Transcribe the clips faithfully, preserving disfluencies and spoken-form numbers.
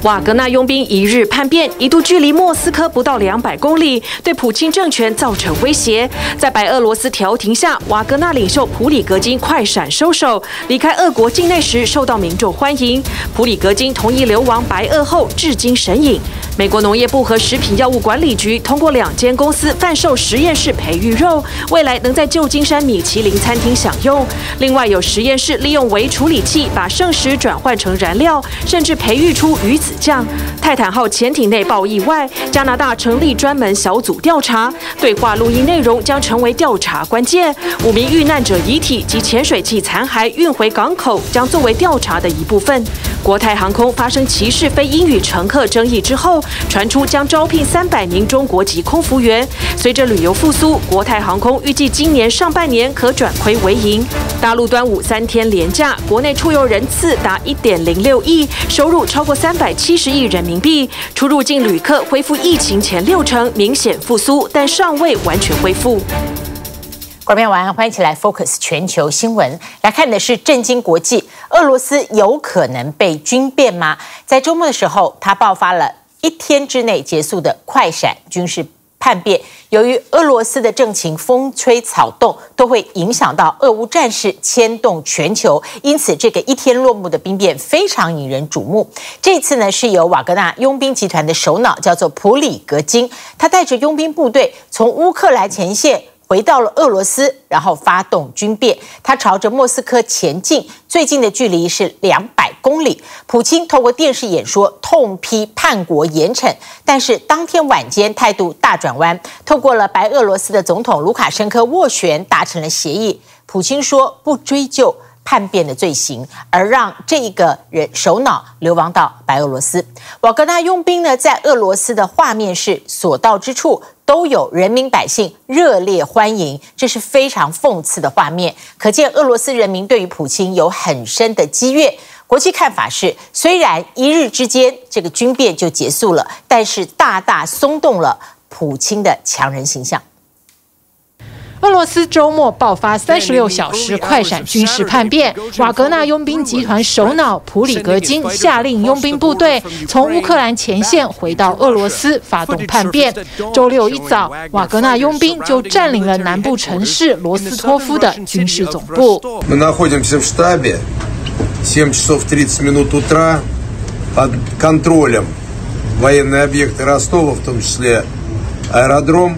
瓦格納傭兵一日叛變，一度距離莫斯科不到兩百公里，對普京政權造成威脅。在白俄羅斯調停下，瓦格納領袖普里格金快閃收手，離開俄國境內時受到民眾歡迎。普里格金同意流亡白俄後，至今神隱。美國農業部和食品藥物管理局通過兩間公司販售實驗室培育肉，未來能在舊金山米其林餐廳享用。另外有實驗室利用微處理器把剩食轉換成燃料，甚至培育出魚子醬。泰坦號潛艇內爆意外，加拿大成立專門小組調查，對話錄音內容將成為調查關鍵。五名遇難者遺體及潛水器殘骸運回港口，將作為調查的一部分。國泰航空發生歧視非英語乘客爭議之後，傳出將招聘三百名中國籍空服員。隨着旅遊復甦，國泰航空預計今年上半年可轉虧為盈。大陸端午三天連假，國內出遊人次達一點零六億，收入超過三百七十億人民幣。出入境旅客恢復疫情前六成，明顯復甦，但尚未完全恢復。 觀眾朋友晚安，歡迎一起來 Focus 全球新聞。來看的是震驚國際，俄羅斯有可能被軍變嗎？在周末的時候，它爆發了一天之內結束的快閃軍事叛變。由於俄羅斯的政情風吹草動，都會影響到俄烏戰事，牽動全球，因此這個一天落幕的兵變非常引人矚目。這次呢，是由瓦格納傭兵集團的首腦叫做普里格金，他帶着傭兵部隊從烏克蘭前線回到了俄羅斯，然後發動軍變。他朝着莫斯科前進，最近的距離是兩百公里。普京透過電視演說痛批叛國嚴懲，但是當天晚間態度大轉彎，透過了白俄羅斯的總統盧卡申科斡旋達成了協議。普京說不追究叛變的罪行，而讓這一個人首腦流亡到白俄羅斯。瓦格納傭兵呢，在俄羅斯的畫面是所到之處都有人民百姓熱烈歡迎，這是非常諷刺的畫面。可見俄羅斯人民對於普京有很深的積怨。國際看法是，雖然一日之間這個軍變就結束了，但是大大鬆動了普京的強人形象。 俄羅斯周末爆發三十六小時快閃軍事叛變，瓦格納傭兵集團首腦普里格金下令傭兵部隊從烏克蘭前線回到俄羅斯發動叛變。周六一早，瓦格納傭兵就佔領了南部城市羅斯托夫的軍事總部。 Мы находимся в штабе, семь часов тридцать минут утра, под контролем военные объекты Ростова, в том числе аэродром.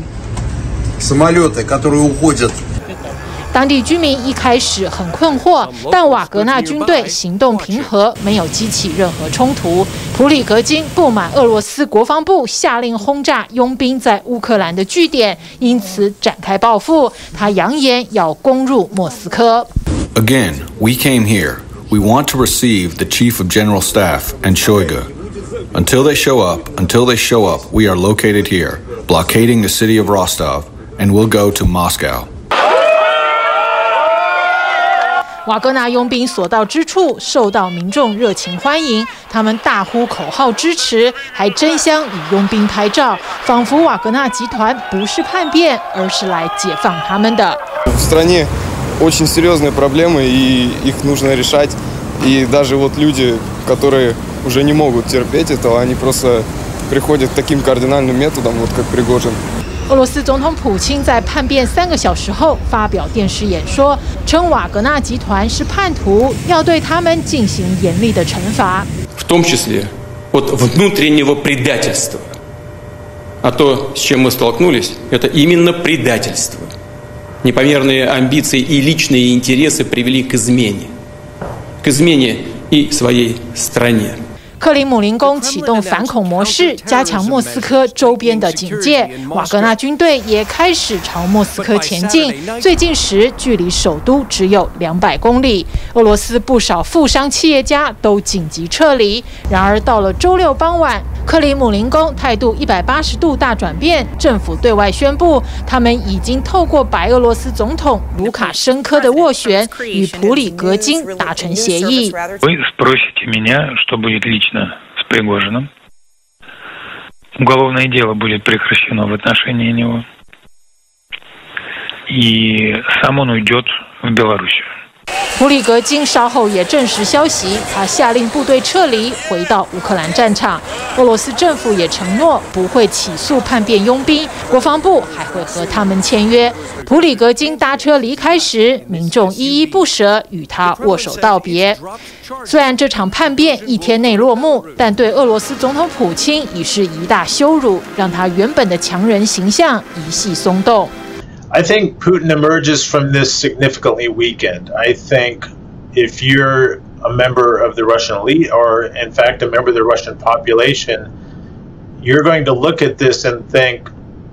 самолеты, которые уходят. 當地居民一開始很困惑，但瓦格納軍隊行動平和，沒有激起任何衝突。普里格金不滿俄羅斯國防部下令轟炸傭兵在烏克蘭的據點，因此展開報復。他揚言要攻入莫斯科。 Again, we came here. We want to receive the Chief of General Staff and Shoigu. Until they show up, until they show up, we are located here, blockading the city of Rostov.And we'll go to Moscow. 瓦格納傭兵所到之處受到民眾熱情歡迎，他們大呼口號支持，還爭相與傭兵拍照，仿佛瓦格納集團不是叛變，而是來解放他們的。 В стране очень серьезные проблемы, и их нужно решать. И даже вот люди, которые уже не могут терпеть этого, они просто приходят к таким кардинальным методам, вот как Пригожин. 俄羅斯總統普京在叛變三個小時後發表電視演說，稱瓦格納集團是叛徒，要對他們進行嚴厲的懲罰。 В том числе от внутреннего предательства. А то, с чем мы столкнулись, это именно предательство. Непомерные амбиции и личные интересы привели к измене. К измене и своей стране. 克里姆林宮啟動反恐模式，加強莫斯科周邊的警戒。瓦格納軍隊也開始朝莫斯科前進，最近時距離首都只有兩百公里。俄羅斯不少富商企業家都緊急撤離。然而到了周六傍晚，克里姆林宮態度一百八十度大轉變，政府對外宣布，他們已經透過白俄羅斯總統盧卡申科的斡旋，與普里格金達成協議。 с Пригожиным. Уголовное дело будет прекращено в отношении него. И сам он уйдет в Белоруссию. 普里格金稍後也證實消息，他下令部隊撤離，回到烏克蘭戰場。俄羅斯政府也承諾不會起訴叛變傭兵，國防部還會和他們簽約。普里格金搭車離開時，民眾依依不捨與他握手道別。雖然這場叛變一天內落幕，但對俄羅斯總統普京已是一大羞辱，讓他原本的強人形象一夕鬆動。 I think Putin emerges from this significantly weakened. I think if you're a member of the Russian elite, or in fact a member of the Russian population, you're going to look at this and think,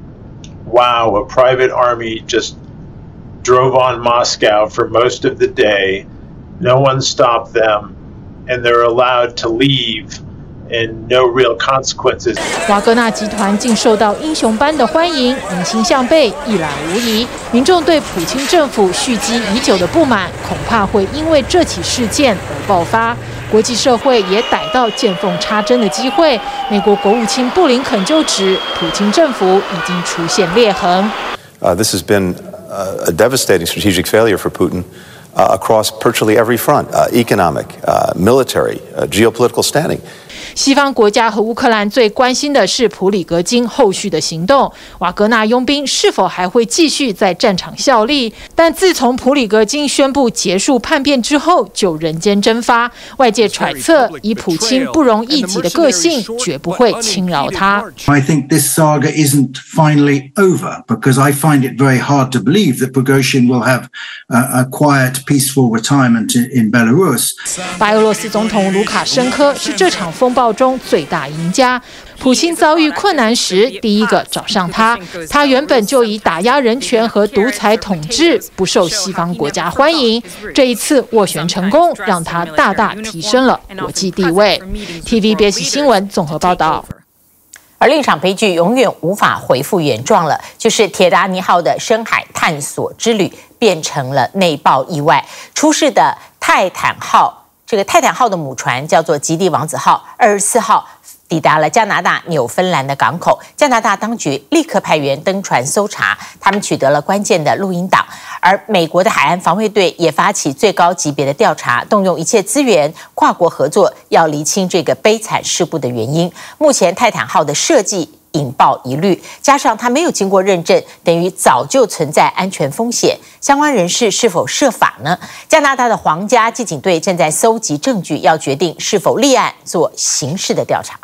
wow, a private army just drove on Moscow for most of the day. No one stopped them, and they're allowed to leave.And no real consequences. 瓦格納集團竟受到英雄般的歡迎，民心向背，一覽無遺。民眾對普京政府蓄積已久的不滿，恐怕會因為這起事件而爆發。國際社會也逮到見縫插針的機會。美國國務卿布林肯就指，普京政府已經出現裂痕。 Uh, this has been a devastating strategic failure for Putin.Uh, across virtually every front, uh, economic, uh, military, uh, geopolitical standing. 西方國家和烏克蘭最關心的是普里格金後續的行動，瓦格納傭兵是否還會繼續在戰場效力？但自從普里格金宣布結束叛變之後，就人間蒸發。外界揣測，以普京不容一己的個性，絕不會輕饒他。 I think this saga isn't finally over because I find it very hard to believe that Prigozhin will have a, a quiet.Peaceful retirement in Belarus. 白俄羅斯總統盧卡申科是這場風暴中最大贏家。普京遭遇困難時，第一個找上他。他原本就以打壓人權和獨裁統治不受西方國家歡迎，這一次斡旋成功，讓他大大提升了國際地位。T V B S 新聞綜合報道。 而另一場悲劇永遠無法恢復原狀了，就是鐵達尼號的深海探索之旅變成了內爆意外。出事的泰坦號，這個泰坦號的母船叫做吉地王子號，二十四號抵達了加拿大紐芬蘭的港口。加拿大當局立刻派員登船搜查，他們取得了關鍵的錄音檔。而美國的海岸防衛隊也發起最高級別的調查，動用一切資源，跨國合作，要釐清這個悲慘事故的原因。目前泰坦號的設計引爆疑慮，加上它沒有經過認證，等於早就存在安全風險。相關人士是否涉法呢？加拿大的皇家騎警隊正在搜集證據，要決定是否立案做刑事的調查。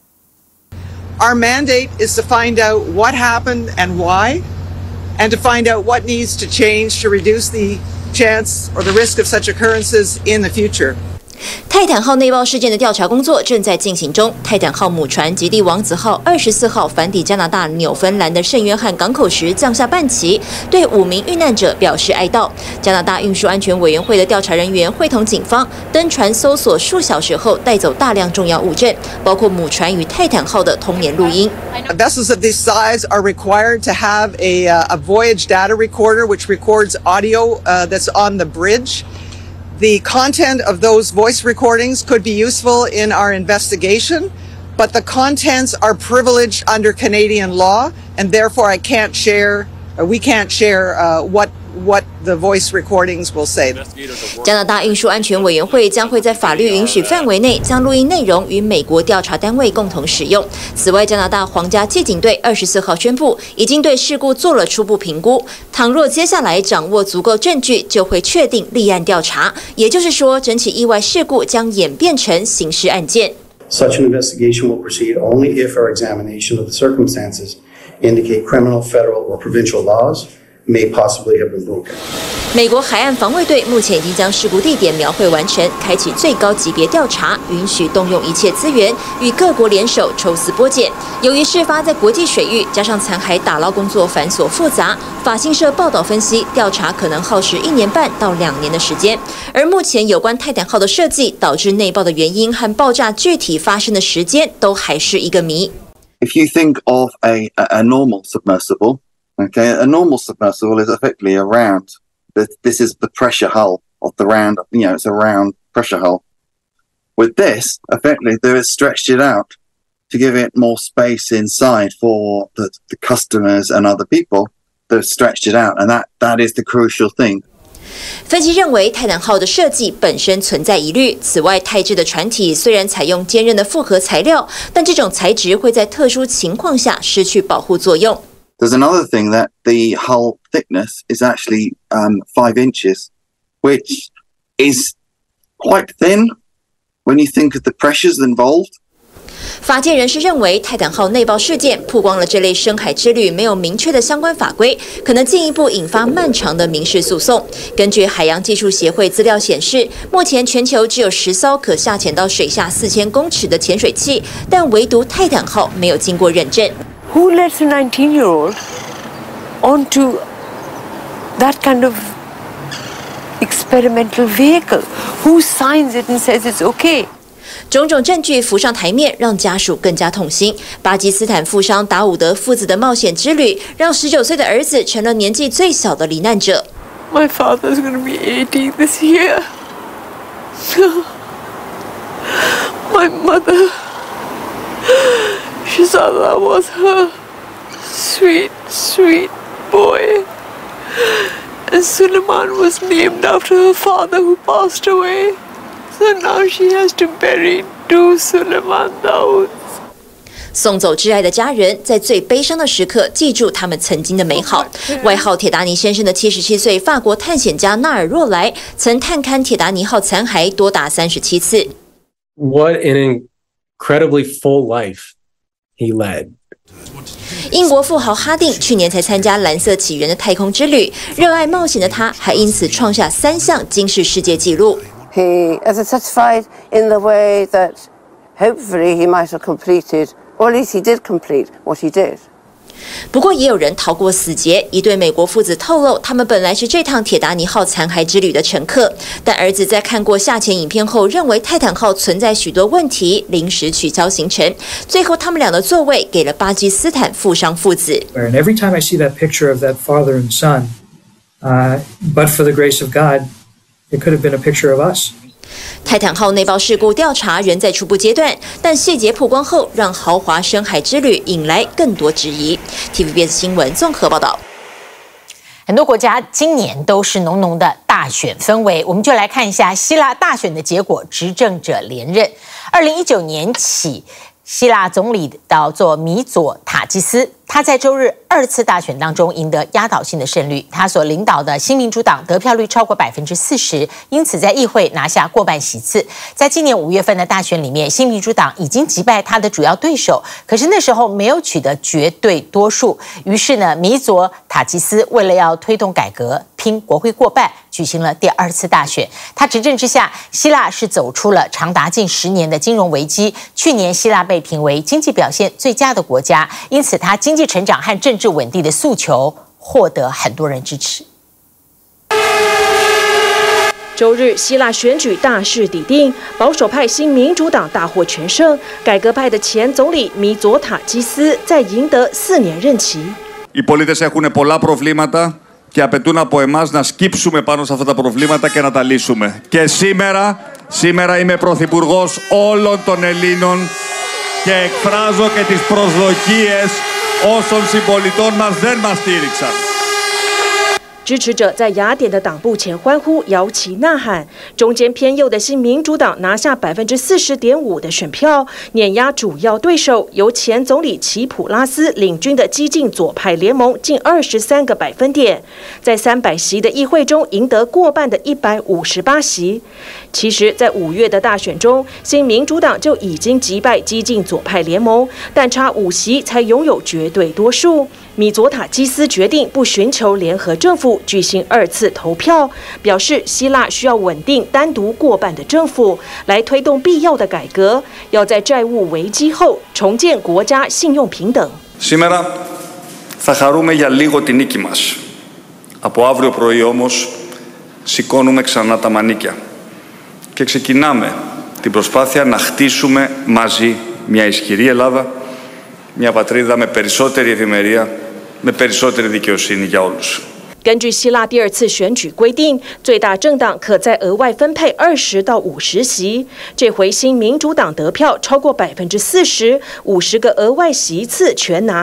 Our mandate is to find out what happened and why, and to find out what needs to change to reduce the chance or the risk of such occurrences in the future. 泰坦號內爆事件的調查工作正在進行中。泰坦號母船吉地王子號二十四號返抵加拿大紐芬蘭的聖約翰港口時降下半旗，對五名遇難者表示哀悼。加拿大運輸安全委員會的調查人員會同警方登船搜索數小時後，帶走大量重要物證，包括母船與泰坦號的通聯錄音。 Vessels of this size are required to have a, uh, a voyage data recorder which records audio uh, that's on the bridge.The content of those voice recordings could be useful in our investigation, but the contents are privileged under Canadian law, and therefore I can't share, or we can't share uh, what what the voice recordings will say. 加拿大運輸安全委員會將會在法律允許範圍內將錄音內容與美國調查單位共同使用。此外，加拿大皇家騎警隊二十四號宣布，已經對事故做了初步評估。倘若接下來掌握足夠證據，就會確定立案調查。也就是說，整起意外事故將演變成刑事案件。 Such an investigation will proceed only if our examination of the circumstances indicate criminal, federal, or provincial laws.May possibly have been broken. 美國海岸防衛隊目前已經將事故地點描繪完成，開啟最高級別調查，允許動用一切資源，與各國聯手抽絲剝繭。由於事發在國際水域，加上殘骸打撈工作繁瑣複雜，法新社報道分析，調查可能耗時一年半到兩年的時間。而目前有關泰坦號的設計導致內爆的原因和爆炸具體發生的時間都還是一個謎。 If you think of a, a normal submersible,Okay, a normal submersible is effectively a round. This is the pressure hull of the round, you know, it's a round pressure hull. With this, effectively, they have stretched it out to give it more space inside for the, the customers and other people. They've stretched it out, and that, that is the crucial thing. 分析認為，泰坦號的設計本身存在疑慮。此外，泰制的船體雖然採用堅韌的複合材料，但這種材質會在特殊情況下失去保護作用。 There's another thing that the hull thickness is actually um, five inches, which is quite thin when you think of the pressures involved. 法界人士認為，泰坦號內爆事件曝光了這類深海之旅沒有明確的相關法規，可能進一步引發漫長的民事訴訟。根據海洋技術協會資料顯示，目前全球只有十艘可下潛到水下四千公尺的潛水器，但唯獨泰坦號沒有經過認證。 Who lets a nineteen-year-old onto that kind of experimental vehicle? Who signs it and says it's okay? 種種證據浮上台面，讓家屬更加痛心。巴基斯坦富商達伍德父子的冒險之旅，讓十九歲的兒子成了年紀最小的罹難者。 My father's going to be eighty this year. My mother, Shahzada was her sweet, sweet boy. And Suleiman was named after her father who passed away.So now she has to bury two Suleiman Daoud. 送走挚愛的家人，在最悲傷的時刻記住他們曾經的美好。外號鐵達尼先生的七十七歲法國探險家納爾若萊，曾探勘鐵達尼號殘骸多達三十七次。 What an incredibly full life he led. 英國富豪哈定去年才參加藍色起源的太空之旅，熱愛冒險的他，還因此創下三項金氏世界紀錄。 He is satisfied in the way that hopefully he might have completed, or at least he did complete what he did. 不過也有人逃過死劫，一對美國父子透露，他們本來是這趟鐵達尼號殘骸之旅的乘客，但兒子在看過下潛影片後，認為泰坦號存在許多問題，臨時取消行程。最後，他們倆的座位給了巴基斯坦富商父子。 And every time I see that picture of that father and son, uh, but for the grace of God.It could have been a picture of us. 泰坦號內爆事故調查仍在初步階段，但細節曝光後，讓豪華深海之旅引來更多質疑。T V B S 新聞綜合報道。 很多國家今年都是濃濃的大選氛圍，我們就來看一下希臘大選的結果，執政者連任。二零一九年起，希臘總理叫做米佐塔基斯，他在周日二次大選當中贏得壓倒性的勝率，他所領導的新民主黨得票率超過百分之四十，因此在議會拿下過半席次。在今年五月份的大選裡面，新民主黨已經擊敗他的主要對手，可是那時候沒有取得絕對多數。於是呢，米佐塔基斯為了要推動改革，拼國會過半，舉行了第二次大選。他執政之下，希臘是走出了長達近十年的金融危機。去年希臘被評為經濟表現最佳的國家，因此他經濟成長和政治穩定的訴求獲得很多人支持。 周日，希臘選舉大勢已定，保守派新民主黨大獲全勝，改革派的前總理米佐塔基斯再贏得四年任期。 Οι πολίτες έχουν πολλά προβλήματα και απαιτούν από εμάς να σκύψουμε πάνω σε αυτά τα προβλήματα και να τα λύσουμε. Και σήμερα, σήμερα είμαι πρωθυπουργός όλων των Ελλήνων και εκφράζω και τις προσδοκίες όσων συμπολιτών μας δεν μας στήριξαν. 支持者在雅典的黨部前歡呼、搖旗吶喊。中間偏右的新民主黨拿下百分之四十點五的選票，碾壓主要對手由前總理齊普拉斯領軍的激進左派聯盟近二十三個百分點，在三百席的議會中贏得過半的一百五十八席。其實，在五月的大選中，新民主黨就已經擊敗激進左派聯盟，但差五席才擁有絕對多數。米佐塔基斯決定不尋求聯合政府，舉行二次投票，表示希臘需要穩定單獨過半的政府，來推動必要的改革，要在債務危機後重建國家信用平等。 Σήμερα θα χαρούμε για λίγο τη νίκη μας. Από αύριο πρωί όμως σηκώνουμε ξανά τα μανίκια και ξεκινάμε την προσπάθεια να χτίσουμε μαζί μια ισχυρή Ελλάδα, μια πατρίδα με περισσότερη ευημερία, με περισσότερη δικαιοσύνη για όλους. 根據希臘第二次選舉規定，最大政黨可再額外分配二十到五十席。這回新民主黨得票超過百分之四十，五十個額外席次全拿。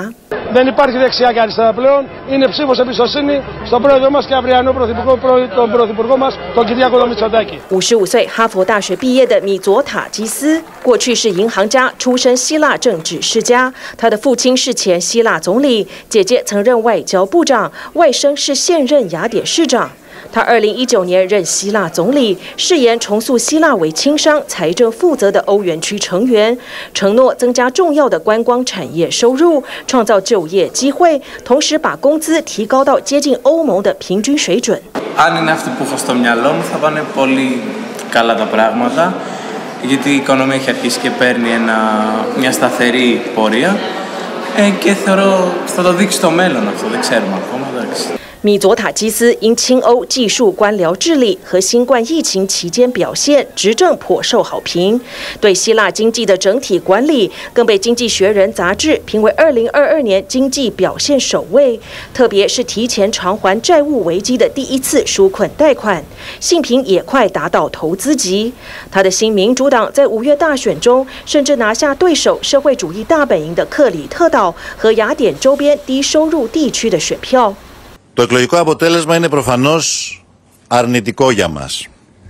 Δεν υπάρχει δεξιά και αριστερά πλέον. Είναι ψήφος εμπιστοσύνη στον πρόεδρο μας και αυριανό πρωθυπουργό, τον πρωθυπουργό μας, τον Κυριάκο Μητσοτάκη。 五十五岁哈佛大學畢業的米佐塔基斯，過去是銀行家，出身希臘政治世家。他的父親是前希臘總理，姐姐曾任外交部長，外甥是現任雅典市長。他二零一九年任希臘總理，誓言重塑希臘為輕商、財政負責的歐元區成員，承諾增加重要的觀光產業收入，創造就業機會，同時把工資提高到接近歐盟的平均水準。 Αν είναι αυτό που έχω στο μυαλό μου, θα πάνε πολύ καλά τα πράγματα, γιατί η οικονομία έχει αρχίσει και παίρνει ένα, μια σταθερή πορεία ε, και θεωρώ θα το δείξει το μέλλον αυτό, δεν ξέρουμε ακόμα, εντάξει. 米佐塔基斯因親歐技術官僚治理和新冠疫情期間表現，執政頗受好評。對希臘經濟的整體管理，更被《經濟學人》雜誌評為二零二二年經濟表現首位。特別是提前償還債務危機的第一次紓困貸款，信評也快達到投資級。他的新民主黨在五月大選中，甚至拿下對手社會主義大本營的克里特島和雅典周邊低收入地區的選票。 Το εκλογικό αποτέλεσμα είναι προφανώς αρνητικό για μας.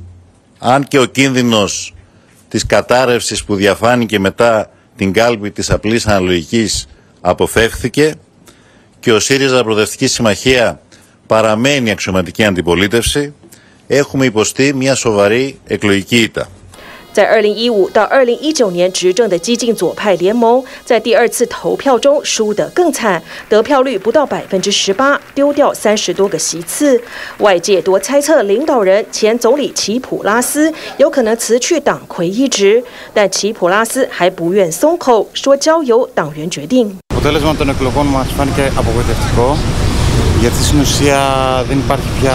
Αν και ο κίνδυνος της κατάρρευσης που διαφάνηκε μετά την κάλπη της απλής αναλογικής αποφεύθηκε και ο ΣΥΡΙΖΑ Προοδευτική Συμμαχία παραμένει αξιωματική αντιπολίτευση, έχουμε υποστεί μια σοβαρή εκλογική ήττα. 在二零一五到二零一九年執政的激進左派聯盟，在第二次投票中輸得更慘，得票率不到百分之十八，丟掉三十多個席次。外界多猜測領導人前總理齊普拉斯有可能辭去黨魁一職，但齊普拉斯還不願鬆口，說交由黨員決定。 Το αποτέλεσμα των εκλογών μας φάνηκε απογοητευτικό, γιατί στην ουσία δεν υπάρχει πια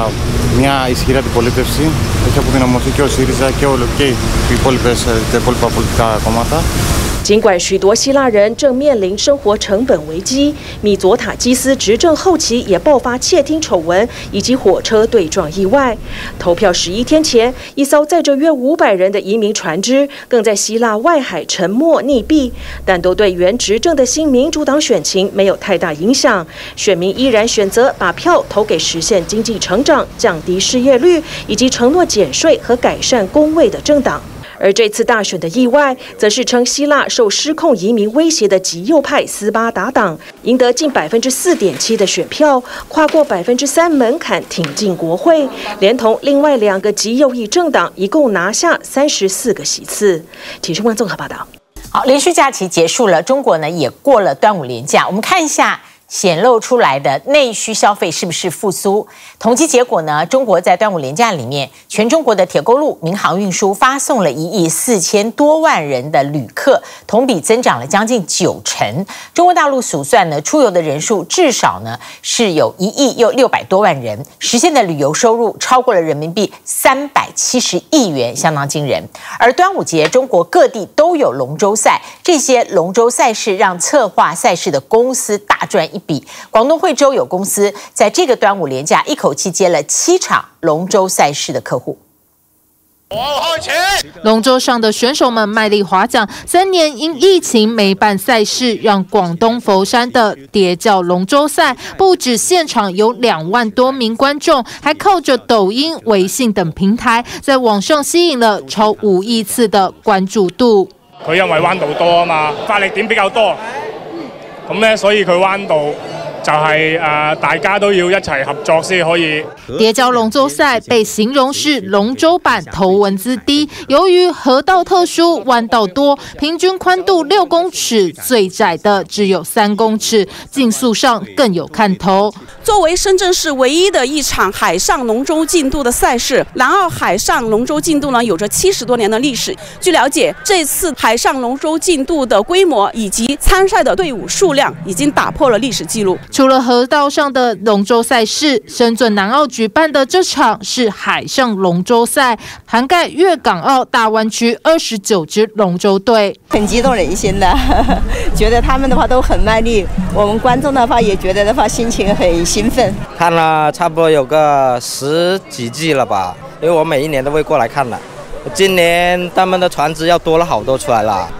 μια ισχυρή αντιπολίτευση. Έχει αποδυναμωθεί και ο ΣΥΡΙΖΑ και, όλο, και οι υπόλοιπες, τα υπόλοιπα πολιτικά κόμματα. 儘管許多希臘人正面臨生活成本危機，米佐塔基斯執政後期也爆發竊聽醜聞以及火車對撞意外。投票十一天前，一艘載着約五百人的移民船隻更在希臘外海沉沒溺斃，但都對原執政的新民主黨選情沒有太大影響。選民依然選擇把票投給實現經濟成長、降低失業率以及承諾減稅和改善公衛的政黨。而這次大選的意外，則是稱希臘受失控移民威脅的極右派斯巴達黨贏得近百分之四點七的選票，跨過百分之三門檻挺進國會，連同另外兩個極右翼政黨，一共拿下三十四個席次。體育新聞綜合報道。 好，連續假期結束了，中國呢也過了端午連假，我們看一下顯露出來的內需消費是不是復甦？統計結果呢？中國在端午連假裡面，全中國的鐵公路、民航運輸發送了一億四千多萬人的旅客，同比增長了將近九成。中國大陸數算呢，出遊的人數至少呢是有一億又六百多萬人，實現的旅遊收入超過了人民幣三百七十億元，相當驚人。而端午節，中國各地都有龍舟賽，這些龍舟賽事讓策劃賽事的公司大賺一筆。廣東惠州有公司在這個端午連假一口氣接了七場龍舟賽事的客戶。 龍舟上的選手們賣力划槳，三年因疫情沒辦賽事，讓廣東佛山的疊教龍舟賽不止現場有兩萬多名觀眾，還靠着抖音、微信等平台在網上吸引了超五億次的關注度。 佢因為彎道多啊嘛，發力點比較多。咁咧，所以佢彎道就係誒，大家都要一齊合作先可以。 疊教龍舟賽被形容是龍舟版頭文字 D， 由於河道特殊，彎道多，平均寬度六公尺，最窄的只有三公尺，競速上更有看頭。 作為深圳市唯一的一場海上龍舟競渡的賽事，南澳海上龍舟競渡呢，有着七十多年的歷史。據了解，這次海上龍舟競渡的規模以及參賽的隊伍數量，已經打破了歷史記錄。 除了河道上的龍舟賽事，深圳南澳舉辦的這場是海上龍舟賽，涵蓋粵港澳大灣區二十九支龍舟隊， 很激動人心的，覺得他們的話都很賣力，我們觀眾的話也覺得的話心情很興奮。 看了差不多有個十幾季了吧，因為我每一年都會過來看的，今年他們的船隻要多了好多出來了。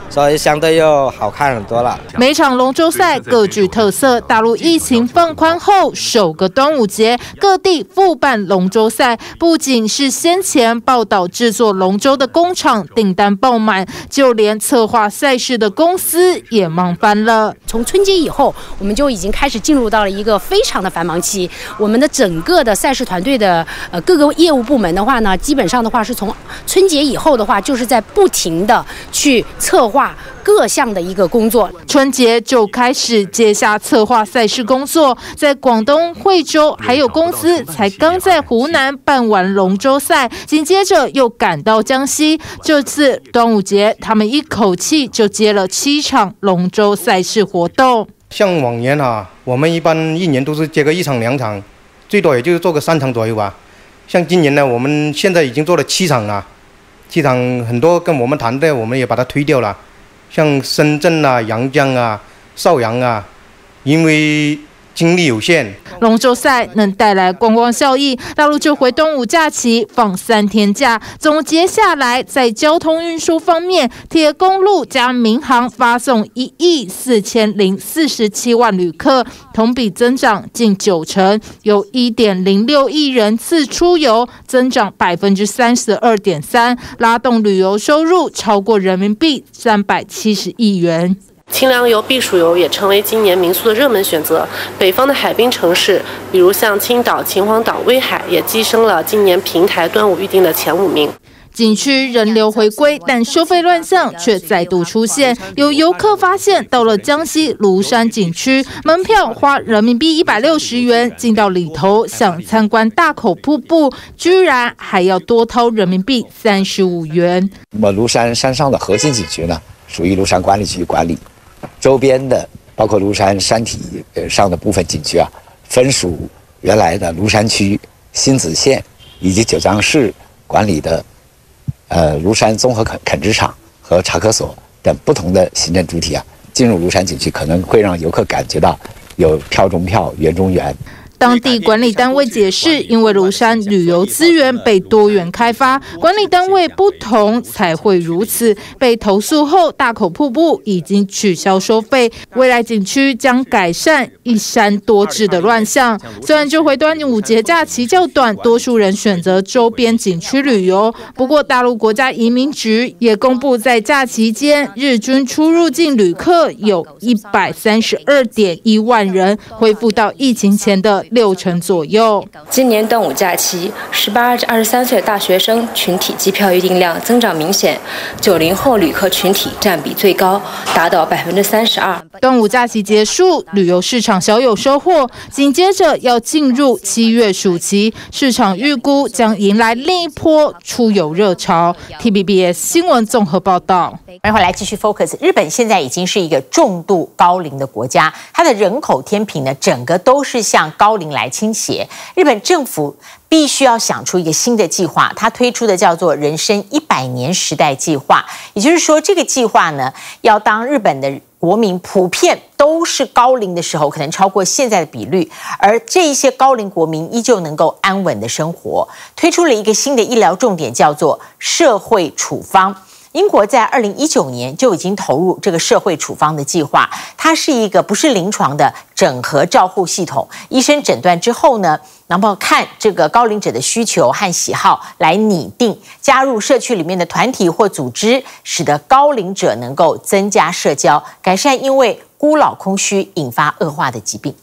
所以相對又好看很多了。 每場龍舟賽各具特色，大陸疫情放寬後首個端午節，各地復辦龍舟賽，不僅是先前報道制作龍舟的工廠訂單爆滿，就連策劃賽事的公司也忙翻了。 從春節以後，我們就已經開始進入到了一個非常的繁忙期。我們的整個的賽事團隊的呃各個業務部門的話呢，基本上的話是從春節以後的話，就是在不停的去策劃各項的一個工作。 春節就開始接下策劃賽事工作，在廣東惠州還有公司才剛在湖南辦完龍舟賽，緊接着又趕到江西。這次端午節，他們一口氣就接了七場龍舟賽事活動。 像往年啊，我們一般一年都是接個一場兩場，最多也就是做個三場左右吧。像今年呢，我們現在已經做了七場了，七場很多跟我們談的，我們也把它推掉了。像深圳啊、陽江啊、邵陽啊，因為精力有限， 龍舟賽能帶來觀光效益，大陸就回端午假期放三天假。總結下來，在交通運輸方面，鐵公路加民航發送一億四千零四十七萬旅客，同比增長近九成，有一點零六億人次出遊，增長百分之三十二點三，拉動旅遊收入超過人民幣三百七十億元。 清涼遊、避暑遊也成為今年民宿的熱門選擇。北方的海濱城市，比如像青島、秦皇島、威海，也躋升了今年平台端午預訂的前五名。 景區人流回歸，但收費亂象卻再度出現。有遊客發現，到了江西廬山景區，門票花人民幣一百六十元，進到裡頭想參觀大口瀑布，居然還要多掏人民幣三十五元。 那麼廬山山上的核心景區呢，屬於廬山管理局管理。周邊的包括廬山山體上的部分景區啊，分屬原來的廬山區、新子縣以及九江市管理的呃廬山綜合墾墾殖場和茶科所等不同的行政主體啊。進入廬山景區可能會讓遊客感覺到有票中票、園中園。 當地管理單位解釋，因為廬山旅遊資源被多元開發，管理單位不同才會如此。被投訴後，大口瀑布已經取消收費，未來景區將改善一山多制的亂象。雖然這回端午節假期較短，多數人選擇周邊景區旅遊，不過大陸國家移民局也公布，在假期間日均出入境旅客有一百三十二點一萬人，恢復到疫情前的六成左右。 今年端午假期，十八至二十三歲大學生群體機票預訂量增長明顯，九零後旅客群體佔比最高，達到百分之三十二。 端午假期結束，旅遊市場小有收穫，緊接着要進入七月暑期，市場預估將迎來另一波出遊熱潮。T V B S 新聞綜合報道。 歡迎回來繼續 focus。日本現在已經是一個重度高齡的國家，它的人口天平呢，整個都是向高齡來傾斜。日本政府必須要想出一個新的計劃，它推出的叫做人生一百年時代計劃。也就是說，這個計劃呢，要當日本的國民普遍都是高齡的時候，可能超過現在的比率，而這一些高齡國民依舊能夠安穩的生活，推出了一個新的醫療重點，叫做社會處方。英國在二零一九年就已經投入這個社會處方的計劃，它是一個不是臨床的整合照護系統，醫生診斷之後呢，然後看這個高齡者的需求和喜好來擬定，加入社區裡面的團體或組織，使得高齡者能夠增加社交，改善因為孤老空虛引發惡化的疾病。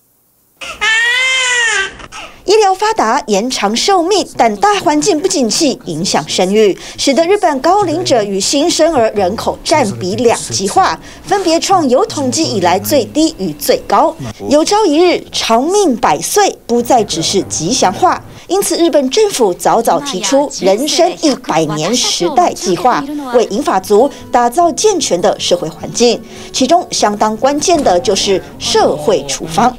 醫療發達，延長壽命，但大環境不景氣，影響生育，使得日本高齡者與新生兒人口佔比兩極化，分別創有統計以來最低與最高。有朝一日，長命百歲不再只是吉祥話，因此日本政府早早提出人生一百年時代計劃，為銀髮族打造健全的社會環境。其中相當關鍵的就是社會處方。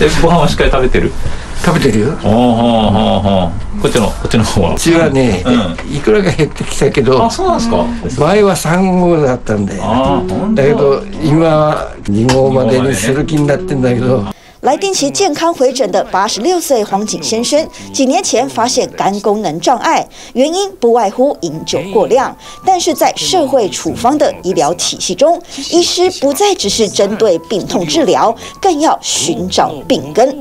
食べてるよ。おおおお。こっちのこっちの方は。うちはね、いくらが減ってきたけど。あ、そうなんですか。前は三号だったんで。だけど今は二号までにする気になってんだけど。 來定期健康回診的八十六歲黃景先生，幾年前發現肝功能障礙，原因不外乎飲酒過量。但是在社會處方的醫療體系中，醫師不再只是針對病痛治療，更要尋找病根。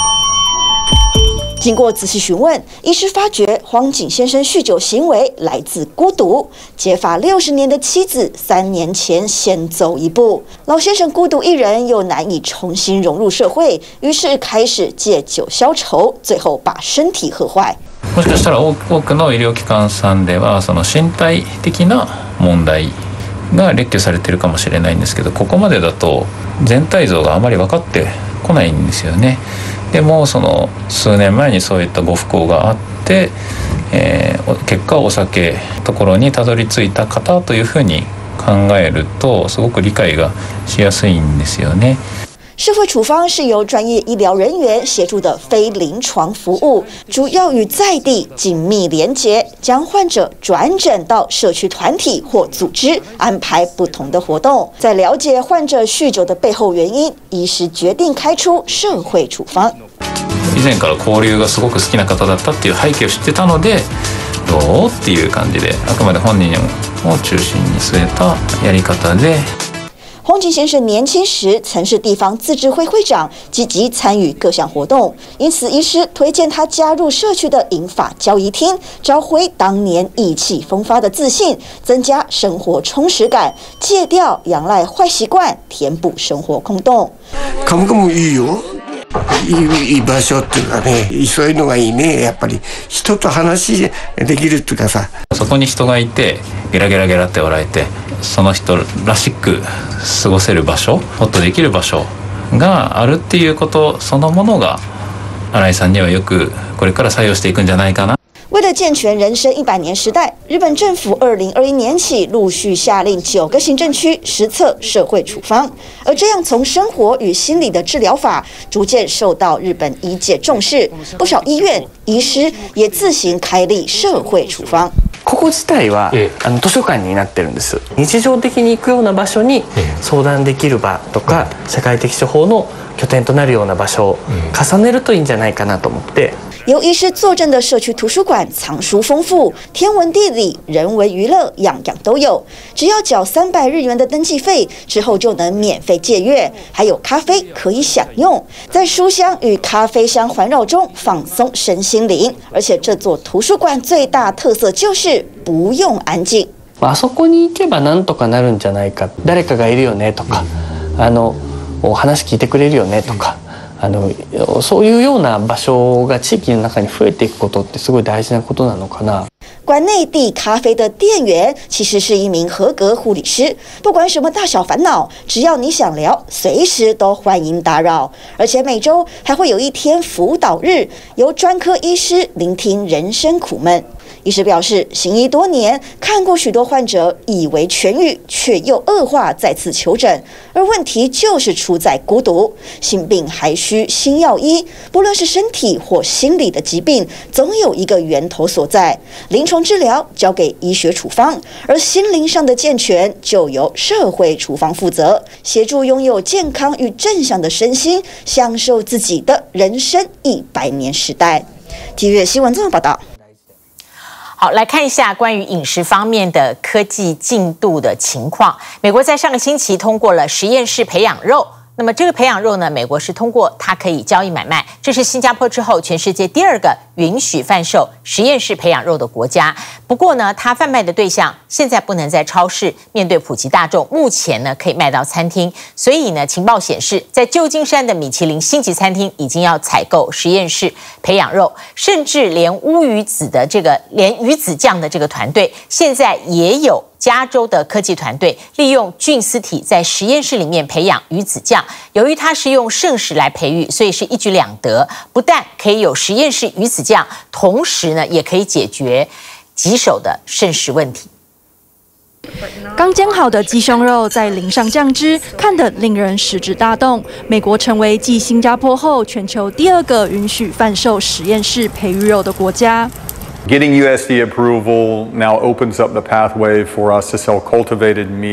經過仔細詢問，醫師發覺黃景先生酗酒行為來自孤獨。結髮六十年的妻子，三年前先走一步。老先生孤獨一人，又難以重新融入社會，於是開始借酒消愁，最後把身體喝壞。 もしかしたら多くの医療機関さんではその身体的な問題が列挙されているかもしれないんですけど、ここまでだと全体像があまり分かってこないんですよね。でもその数年前にそういったご不幸があって、えー、結果お酒ところにたどり着いた方というふうに考えるとすごく理解がしやすいんですよね。 社會處方是由專業醫療人員協助的非臨床服務，主要與在地緊密連結，將患者轉診到社區團體或組織，安排不同的活動。在了解患者酗酒的背後原因，醫師決定開出社會處方。 以前から交流がすごく好きな方だったっていう背景を知ってたので、どうっていう感じで、あくまで本人を中心に据えたやり方で。 黃景先生年輕時曾是地方自治會會長，積極參與各項活動，因此醫師推薦他加入社區的銀髮交誼廳，找回當年意氣風發的自信，增加生活充實感，戒掉仰賴壞習慣，填補生活空洞。 カムカムいいよ。いい、いい場所っていうかね、そういうのがいいね。やっぱり人と話できるっていうかさ。 そこに人がいて、ゲラゲラゲラって笑えて、その人らしく過ごせる場所、ホッとできる場所があるっていうことそのものが、新井さんにはよくこれから採用していくんじゃないかな。 為了健全人生一百年時代，日本政府二零二一年起陸續下令九個行政區實測社會處方，而這樣從生活與心理的治療法逐漸受到日本醫界重視，不少醫院、醫師也自行開立社會處方。 ここ自體は、ええ、あの図書館になってるんです。日常的に行くような場所に相談できる場とか、ええ、社會的処方の拠點となるような場所を重ねるといいんじゃないかなと思って。 由醫師坐鎮的社區圖書館藏書豐富，天文地理、人文娛樂樣樣都有。只要繳三百日元的登記費之後，就能免費借閱，還有咖啡可以享用，在書香與咖啡香環繞中放鬆身心靈。而且這座圖書館最大特色就是不用安靜。 あそこに行けばなんとかなるんじゃないか、誰かがいるよねとか、あの話聞いてくれるよねとか。あのそういうような場所が地域の中に増えていくことってすごい大事なことなのかな。 館內遞咖啡的店員其實是一名合格護理師，不管什麼大小煩惱，只要你想聊，隨時都歡迎打擾。而且每週還會有一天輔導日，由專科醫師聆聽人生苦悶。醫師表示，行醫多年，看過許多患者以為痊癒，卻又惡化，再次求診。而問題就是出在孤獨，心病還需心藥醫。不論是身體或心理的疾病，總有一個源頭所在。臨床治療交給醫學處方，而心靈上的健全就由社會處方負責，協助擁有健康與正向的身心，享受自己的人生一百年時代。體育新聞綜合報道。 好，來看一下關於飲食方面的科技進度的情況。美國在上個星期通過了實驗室培養肉。那麼這個培養肉呢，美國是通過它可以交易買賣，這是新加坡之後全世界第二個允許販售實驗室培養肉的國家。不過呢，它販賣的對象現在不能在超市，面對普及大眾，目前呢可以賣到餐廳。所以呢，情報顯示，在舊金山的米其林星級餐廳已經要採購實驗室培養肉，甚至連烏魚子的這個連魚子醬的這個團隊，現在也有加州的科技團隊利用菌絲體在實驗室裡面培養魚子醬。由於它是用剩食來培育，所以是一舉兩得，不但可以有實驗室魚子醬，同時呢也可以解決棘手的剩食問題。 剛煎好的雞胸肉再淋上醬汁，看得令人食指大動。美國成為繼新加坡後全球第二個允許販售實驗室培育肉的國家。 Getting U S D A approval now opens up the pathway for us to sell cultivated meat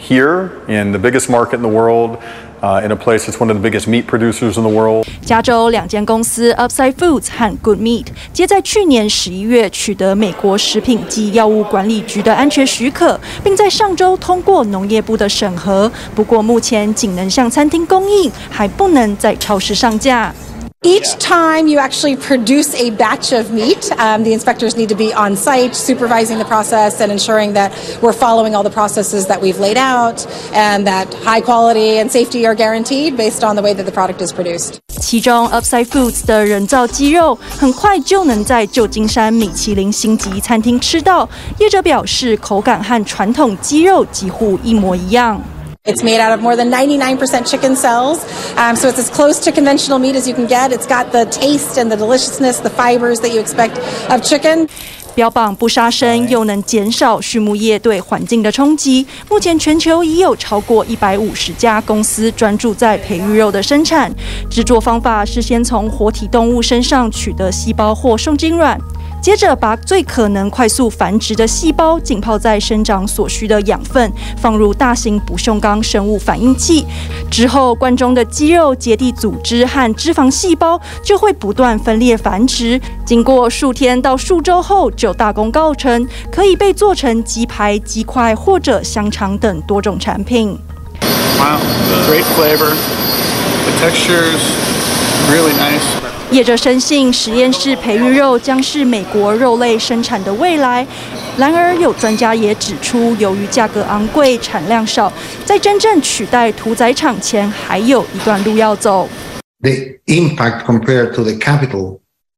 here in the biggest market in the world, uh, in a place that's one of the biggest meat producers in the world. 加州两间公司 Upside Foods 和 Good Meat 皆在去年十一月取得美国食品及药物管理局的安全许可，并在上周通過農業部的審核。不過目前僅能向餐廳供應，還不能在超市上架。 Each time you actually produce a batch of meat, um, the inspectors need to be on site supervising the process and ensuring that we're following all the processes that we've laid out and that high quality and safety are guaranteed based on the way that the product is produced. 其中 Upside Foods 的人造雞肉很快就能在舊金山米其林星級餐廳吃到，業者表示口感和傳統雞肉幾乎一模一樣。 It's made out of more than ninety-nine percent chicken cells, um, so it's as close to conventional meat as you can get. It's got the taste and the deliciousness, the fibers that you expect of chicken. 標榜不殺生，又能減少畜牧業對環境的衝擊。目前全球已有超過一百五十家公司專注在培育肉的生產。製作方法是先從活體動物身上取得細胞或受精卵。 接着把最可能快速繁殖的細胞浸泡在生長所需的養分，放入大型不鏽鋼生物反應器，之後罐中的肌肉、結締組織和脂肪細胞就會不斷分裂繁殖。經過數天到數週後，就大功告成，可以被做成雞排、雞塊或者香腸等多種產品。 Wow, great flavor. The texture's really nice. 業者深信實驗室培育肉將是美國肉類生產的未來。然而，有專家也指出，由於價格昂貴、產量少，在真正取代屠宰場前，還有一段路要走。 The impact compared to the capital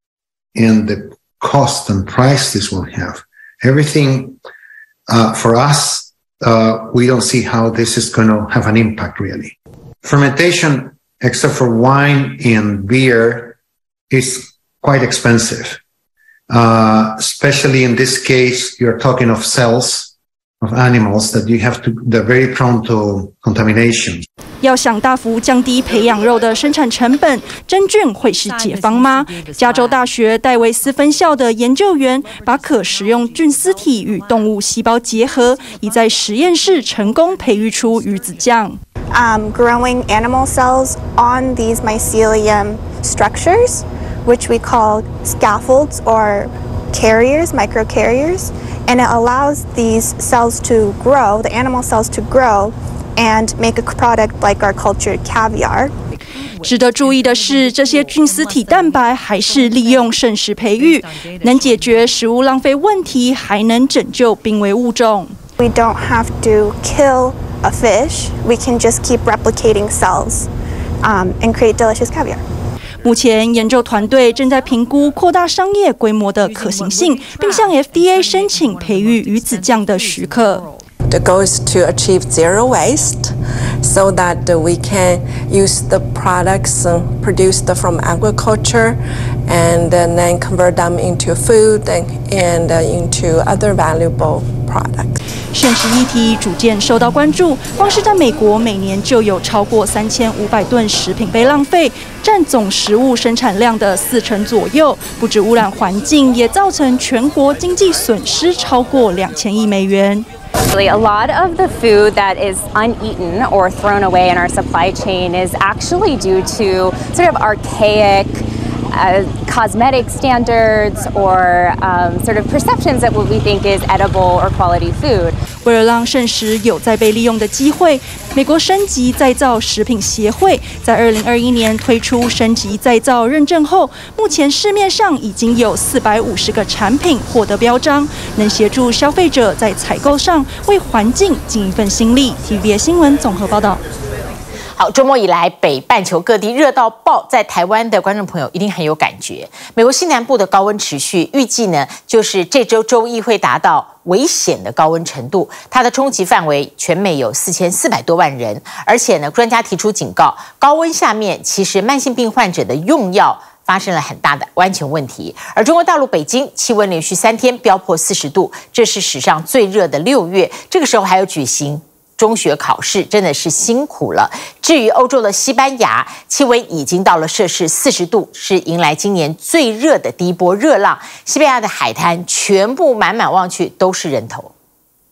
and the cost and price this will have, everything uh, for us, uh, we don't see how this is going to have an impact really. Fermentation, except for wine and beer, is quite expensive, uh, especially in this case, you're talking of cells of animals that you have to, they're very prone to contamination. 要想大幅降低培養肉的生產成本，真菌會是解方嗎？加州大學戴維斯分校的研究員把可食用菌絲體與動物細胞結合，已在實驗室成功培育出魚子醬。 Um, growing animal cells on these mycelium structures, which we call scaffolds or carriers, microcarriers, and it allows these cells to grow, the animal cells to grow, and make a product like our cultured caviar. 值得注意的是，这些菌絲體蛋白還是利用剩食培育，能解決食物浪費問題，還能拯救瀕危物種。 We don't have to kill a fish. We can just keep replicating cells, um, and create delicious caviar. 目前研究團隊正在評估擴大商業規模的可行性，並向 F D A 申請培育魚子醬的許可。 The goal is to achieve zero waste, so that we can use the products produced from agriculture and then convert them into food and into other valuable products. 剩食議題逐漸受到關注，光是在美國，每年就有超過三千五百噸食品被浪費，佔總食物生產量的四成左右。不止污染環境，也造成全國經濟損失超過兩千億美元。 A lot of the food that is uneaten or thrown away in our supply chain is actually due to sort of archaic uh, cosmetic standards or um, sort of perceptions that what we think is edible or quality food. 为了讓剩食有再被利用的機會，美國升級再造食品協會在二零二一年推出升級再造認證後，目前市面上已經有四百五十個產品獲得標章，能協助消費者在採購上為環境盡一份心力。T V B S 新聞綜合報道。 好，周末以來，北半球各地熱到爆，在台灣的觀眾朋友一定很有感覺。美國西南部的高溫持續，預計呢就是這週週一會達到危險的高溫程度，它的衝擊範圍全美有四千四百多萬人，而且呢，專家提出警告，高溫下面其實慢性病患者的用藥發生了很大的安全問題。而中國大陸北京氣溫連續三天飆破四十度，這是史上最熱的六月，這個時候還有舉行 中學考試真的是辛苦了。至於歐洲的西班牙，氣溫已經到了攝氏四十度，是迎來今年最熱的第一波熱浪。西班牙的海灘全部滿滿望去都是人頭。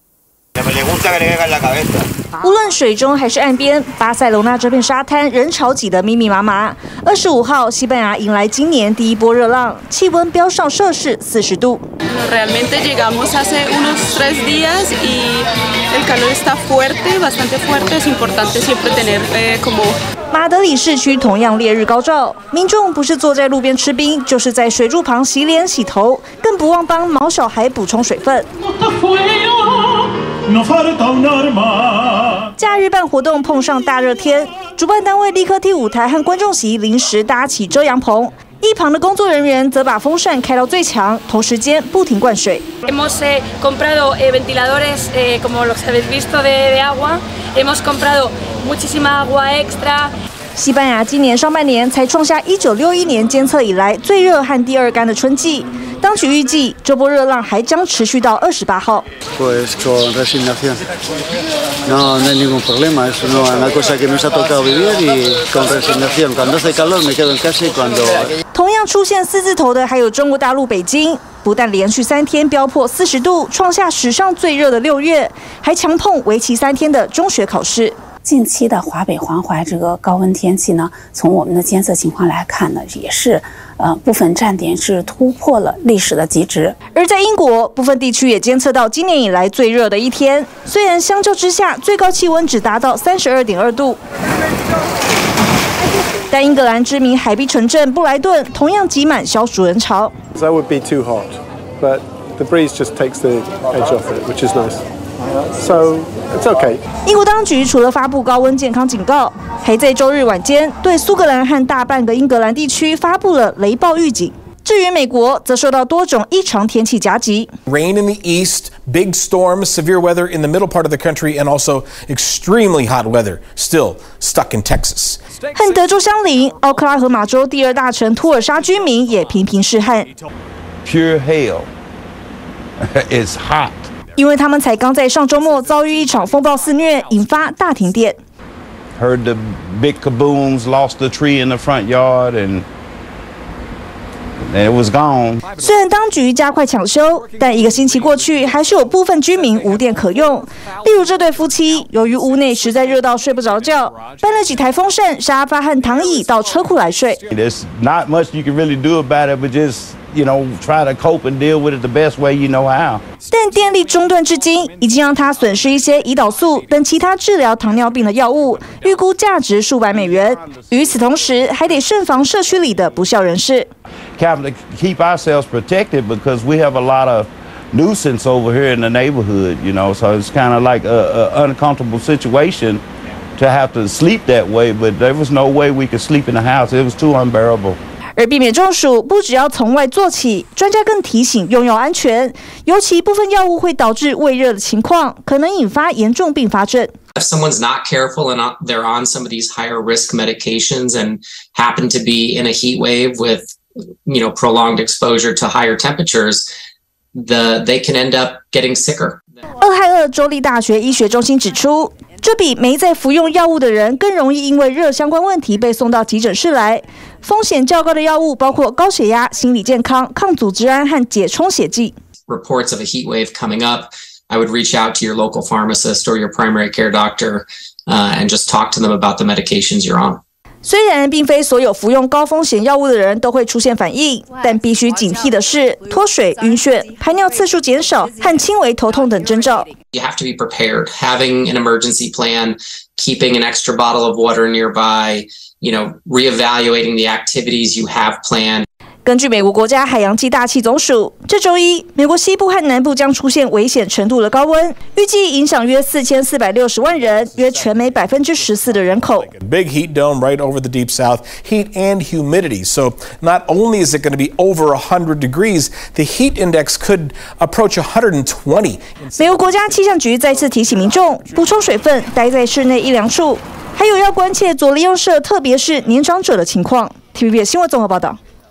無論水中還是岸邊，巴塞羅那這片沙灘人潮擠得密密麻麻。二十五號，西班牙迎來今年第一波熱浪，氣溫飆上攝氏四十度。 Realmente llegamos hace unos tres días y el calor está fuerte, bastante fuerte. Es importante siempre tener eh, como. 馬德里市區同樣烈日高照，民眾不是坐在路邊吃冰，就是在水柱旁洗臉洗頭，更不忘幫毛小孩補充水分。假日辦活動碰上大熱天，主辦單位立刻替舞台和觀眾席臨時搭起遮陽棚，一旁的工作人員則把風扇開到最強，同時間不停灌水。 Hemos eh, comprado eh, ventiladores eh, como los habéis visto de, de agua. Hemos comprado muchísima agua extra. 西班牙今年上半年才創下一九六一年監測以來最熱和第二乾的春季，當局預計這波熱浪還將持續到二十八號。 Pues con resignación. No, no hay ningún problema. Es una cosa que nos ha tocado vivir y con resignación. Cuando hace calor me quedo en casa y cuando. 同樣出現四字頭的還有中國大陸北京，不但連續三天飆破四十度，創下史上最熱的六月，還強碰為期三天的中學考試。 近期的華北環淮這個高溫天氣呢，從我們的監測情況來看呢，也是呃部分站點是突破了歷史的極值。 而在英國，部分地區也監測到今年以來最熱的一天，雖然相較之下最高氣溫只達到三十二點二度。但英格蘭知名海濱城鎮布萊頓同樣擠滿消暑人潮。 That would be too hot, but the breeze just takes the edge off it, which is nice. So it's okay. 英國當局除了發布高溫健康警告，還在周日晚間對蘇格蘭和大半個英格蘭地區發布了雷暴預警。至於美國，則受到多種異常天氣夾擊。 Rain in the east, big storms, severe weather in the middle part of the country, and also extremely hot weather still stuck in Texas. 和德州相鄰，奧克拉荷馬州第二大城托爾沙居民也頻頻試旱。 Pure hell. It's hot. 因為他們才剛在上周末遭遇一場風暴肆虐，引發大停電。 Heard the big kabooms, lost the tree in the front yard, and it was gone. 雖然當局加快搶修，但一個星期過去，還是有部分居民無電可用。例如這對夫妻，由於屋內實在熱到睡不着覺，搬了幾台風扇、沙發和躺椅到車庫來睡。 There's not much you can really do about it, but just you know try to cope and deal with it the best way you know how. 但電力中斷至今，已經讓他損失一些胰島素等其他治療糖尿病的藥物，預估價值數百美元。與此同時，還得慎防社區裡的不肖人士。 To keep ourselves protected because we have a lot of nuisance over here in the neighborhood, you know, so it's kind of like a, a uncomfortable situation to have to sleep that way, but there was no way we could sleep in the house. It was too unbearable. 而避免中暑，不只要從外做起，專家更提醒用藥安全，尤其部分藥物會導致胃熱的情況，可能引發嚴重併發症。 If someone's not careful and they're on some of these higher risk medications and happen to be in a heat wave with, you know, prolonged exposure to higher temperatures, the they can end up getting sicker. 俄亥俄州立大學醫學中心指出，這比沒在服用藥物的人更容易因為熱相關問題被送到急診室來。風險較高的藥物包括高血壓、心理健康、抗組織胺和解充血劑。 Reports of a heat wave coming up, I would reach out to your local pharmacist or your primary care doctor uh, and just talk to them about the medications you're on. 雖然並非所有服用高風險藥物的人都會出現反應，但必須警惕的是脫水、暈眩、排尿次數減少和輕微頭痛等徵兆。 You have to be prepared. Having an emergency plan, keeping an extra bottle of water nearby, you know, reevaluating the activities you have planned. 根據美國國家海洋暨大氣總署，這週一，美國西部和南部將出現危險程度的高溫，預計影響約四千四百六十萬人，約全美百分之十四的人口。 Big heat dome right over the deep south, heat and humidity. So not only is it going to be over one hundred degrees, the heat index could approach one hundred twenty. 美國國家氣象局再次提醒民眾補充水分，待在室內一涼處，還有要關切左鄰右舍，特別是年長者的情況。T V B 新聞綜合報道。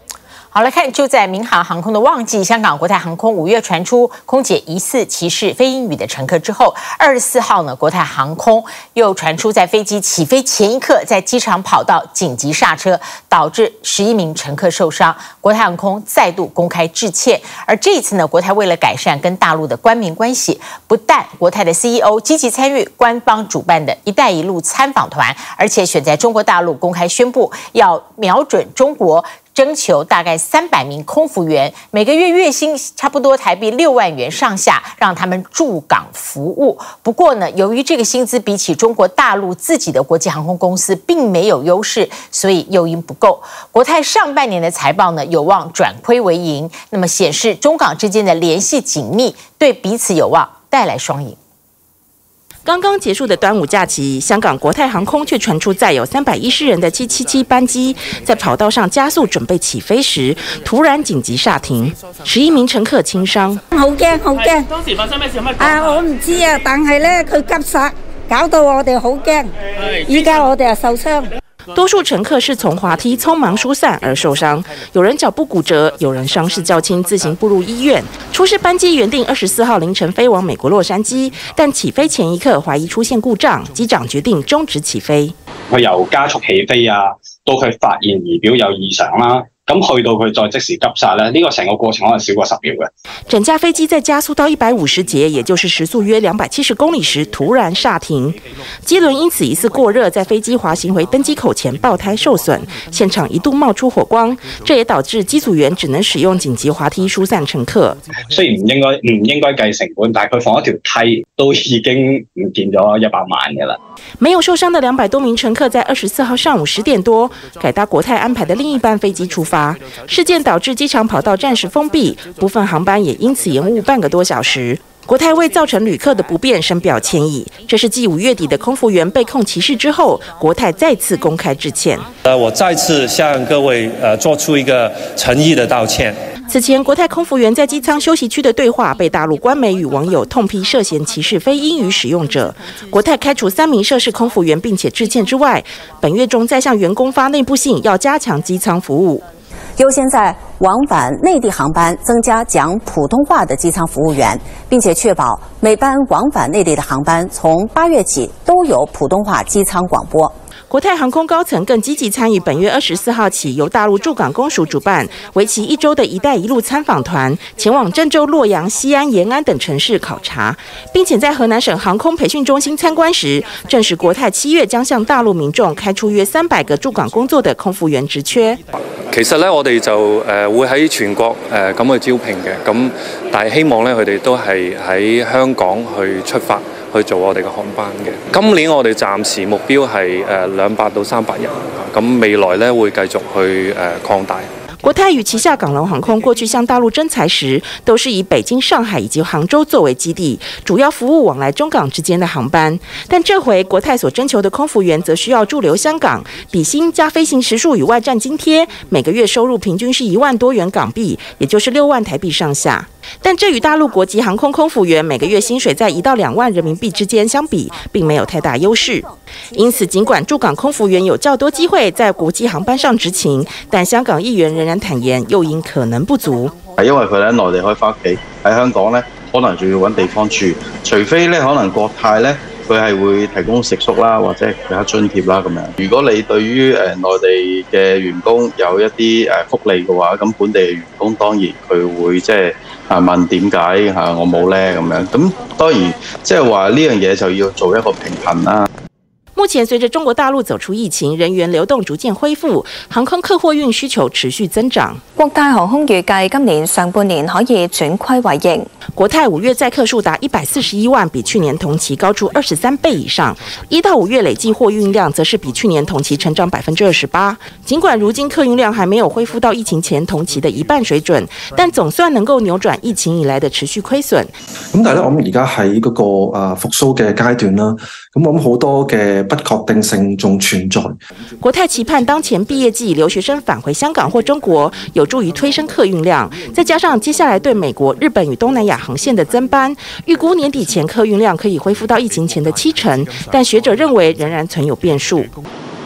好，來看，就在民航航空的旺季，香港國泰航空五月傳出空姐疑似歧視非英語的乘客之後，二十四號呢，國泰航空又傳出在飛機起飛前一刻，在機場跑道緊急剎車，導致十一名乘客受傷。國泰航空再度公開致歉。而這一次呢，國泰為了改善跟大陸的官民關係，不但國泰的 C E O 積極參與官方主辦的一帶一路參訪團，而且選在中國大陸公開宣布要瞄準中國，徵求大概三百名空服員，每個月月薪差不多台幣六萬元上下，讓他們駐港服務。不過呢，由於這個薪資比起中國大陸自己的國際航空公司並沒有優勢，所以誘因不夠。國泰上半年的財報呢，有望轉虧為盈，那麼顯示中港之間的聯繫緊密，對彼此有望帶來雙贏。 剛剛結束的端午假期，香港國泰航空卻傳出載有三百一十人的七七七班機在跑道上加速準備起飛時，突然緊急剎停，十一名乘客輕傷。 好驚好驚！當時發生咩事？有乜？啊，我唔知啊，但係咧佢急剎，搞到我哋好驚。依家我哋又受傷。 多數乘客是從滑梯匆忙疏散而受傷，有人腳部骨折，有人傷勢較輕，自行步入醫院。出事班機原定二十四號凌晨飛往美國洛杉磯，但起飛前一刻懷疑出現故障，機長決定終止起飛。 佢由加速起飛啊，到佢發現儀表有異常啦。咁去到佢再即時急剎咧，呢個成個過程可能少過十秒嘅。 整架飛機在加速到一百五十節，也就是時速約兩百七十公里時，突然剎停，機輪因此疑似過熱，在飛機滑行回登機口前爆胎受損，現場一度冒出火光，這也導致機組員只能使用緊急滑梯疏散乘客。 雖然唔應該唔應該計成本，但係佢放一條梯都已經唔見咗一百萬嘅啦。 沒有受傷的兩百多名乘客，在二十四號上午十點多改搭國泰安排的另一班飛機出發。事件導致機場跑道暫時封閉，部分航班也因此延誤半個多小時。國泰為造成旅客的不便深表歉意。這是繼五月底的空服員被控歧視之後，國泰再次公開致歉。 呃，我再次向各位呃做出一個誠意的道歉。 此前，國泰空服員在機艙休息區的對話被大陸官媒與網友痛批涉嫌歧視非英語使用者。國泰開除三名涉事空服員，並且致歉之外，本月中再向員工發內部信，要加強機艙服務。 優先在往返內地航班增加講普通話的機艙服務員，並且確保每班往返內地的航班從八月起都有普通話機艙廣播。 國泰航空高層更積極參與本月二十四號起由大陸駐港公署主辦、為期一周的一帶一路參訪團，前往鄭州、洛陽、西安、延安等城市考察，並且在河南省航空培訓中心參觀時，證實國泰七月將向大陸民眾開出約三百個駐港工作的空服員職缺。 其實咧，我哋就誒會喺全國誒咁去招聘嘅，咁但係希望咧佢哋都係喺香港去出發去做我哋嘅航班嘅。今年我哋暫時目標係誒兩百到三百人，咁未來咧會繼續去誒擴大。 國泰與旗下港龍航空過去向大陸徵才時，都是以北京、上海以及杭州作為基地，主要服務往來中港之間的航班。但這回國泰所徵求的空服員則需要駐留香港，底薪加飛行時數與外站津貼，每個月收入平均是一萬多元港幣，也就是六萬台幣上下。但這與大陸國籍航空空服員每個月薪水在一到兩萬人民幣之間相比，並沒有太大優勢。因此，儘管駐港空服員有較多機會在國際航班上執勤，但香港議員仍然坦言誘因可能不足。 因為佢哋喺內地可以翻屋企，喺香港咧可能仲要揾地方住，除非咧可能國泰咧佢係會提供食宿啦，或者其他津貼啦咁樣。如果你對於誒內地嘅員工有一啲誒福利嘅話，咁本地嘅員工當然佢會即係啊問點解嚇我冇咧咁樣。咁當然即係話呢樣嘢就要做一個平衡啦。 目前，隨着中國大陸走出疫情，人員流動逐漸恢復，航空客貨運需求持續增長。 國泰航空預計今年上半年可以轉虧為盈。 國泰五月載客數達一百四十一萬，比去年同期高出二十三倍以上。一到五月累計貨運量則是比去年同期成長百分之二十八。儘管如今客運量還沒有恢復到疫情前同期的一半水準，但總算能夠扭轉疫情以來的持續虧損。 咁但係咧，我諗而家喺嗰個啊復甦嘅階段啦，咁我諗好多嘅不確定性仲存在。 國泰期盼當前畢業季留學生返回香港或中國，有助於推升客運量。再加上接下來對美國、日本與東南亞航線的增班，預估年底前客運量可以恢復到疫情前的七成。但學者認為仍然存有變數。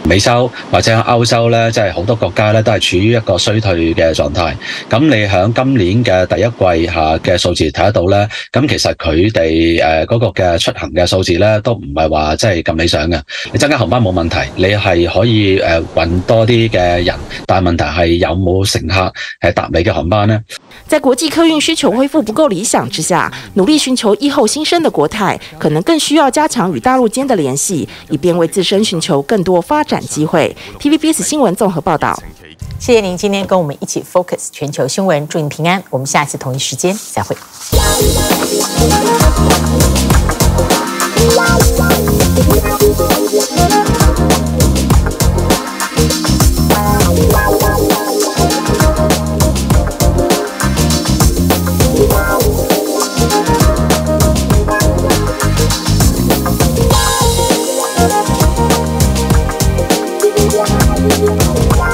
美洲或者歐洲咧，即係好多國家咧都係處於一個衰退嘅狀態。咁你喺今年嘅第一季下嘅數字睇得到咧，咁其實佢哋誒嗰個嘅出行嘅數字咧都唔係話即係咁理想嘅。你增加航班冇問題，你係可以誒運多啲嘅人，但係問題係有冇乘客係搭你嘅航班呢？ 在國際客運需求恢復不夠理想之下，努力尋求疫後新生的國泰，可能更需要加強與大陸間的聯繫，以便為自身尋求更多發展機會。T V B S 新聞綜合報道。 謝謝您今天跟我們一起 focus 全球新聞，祝您平安。我們下次同一時間再會。 Wow.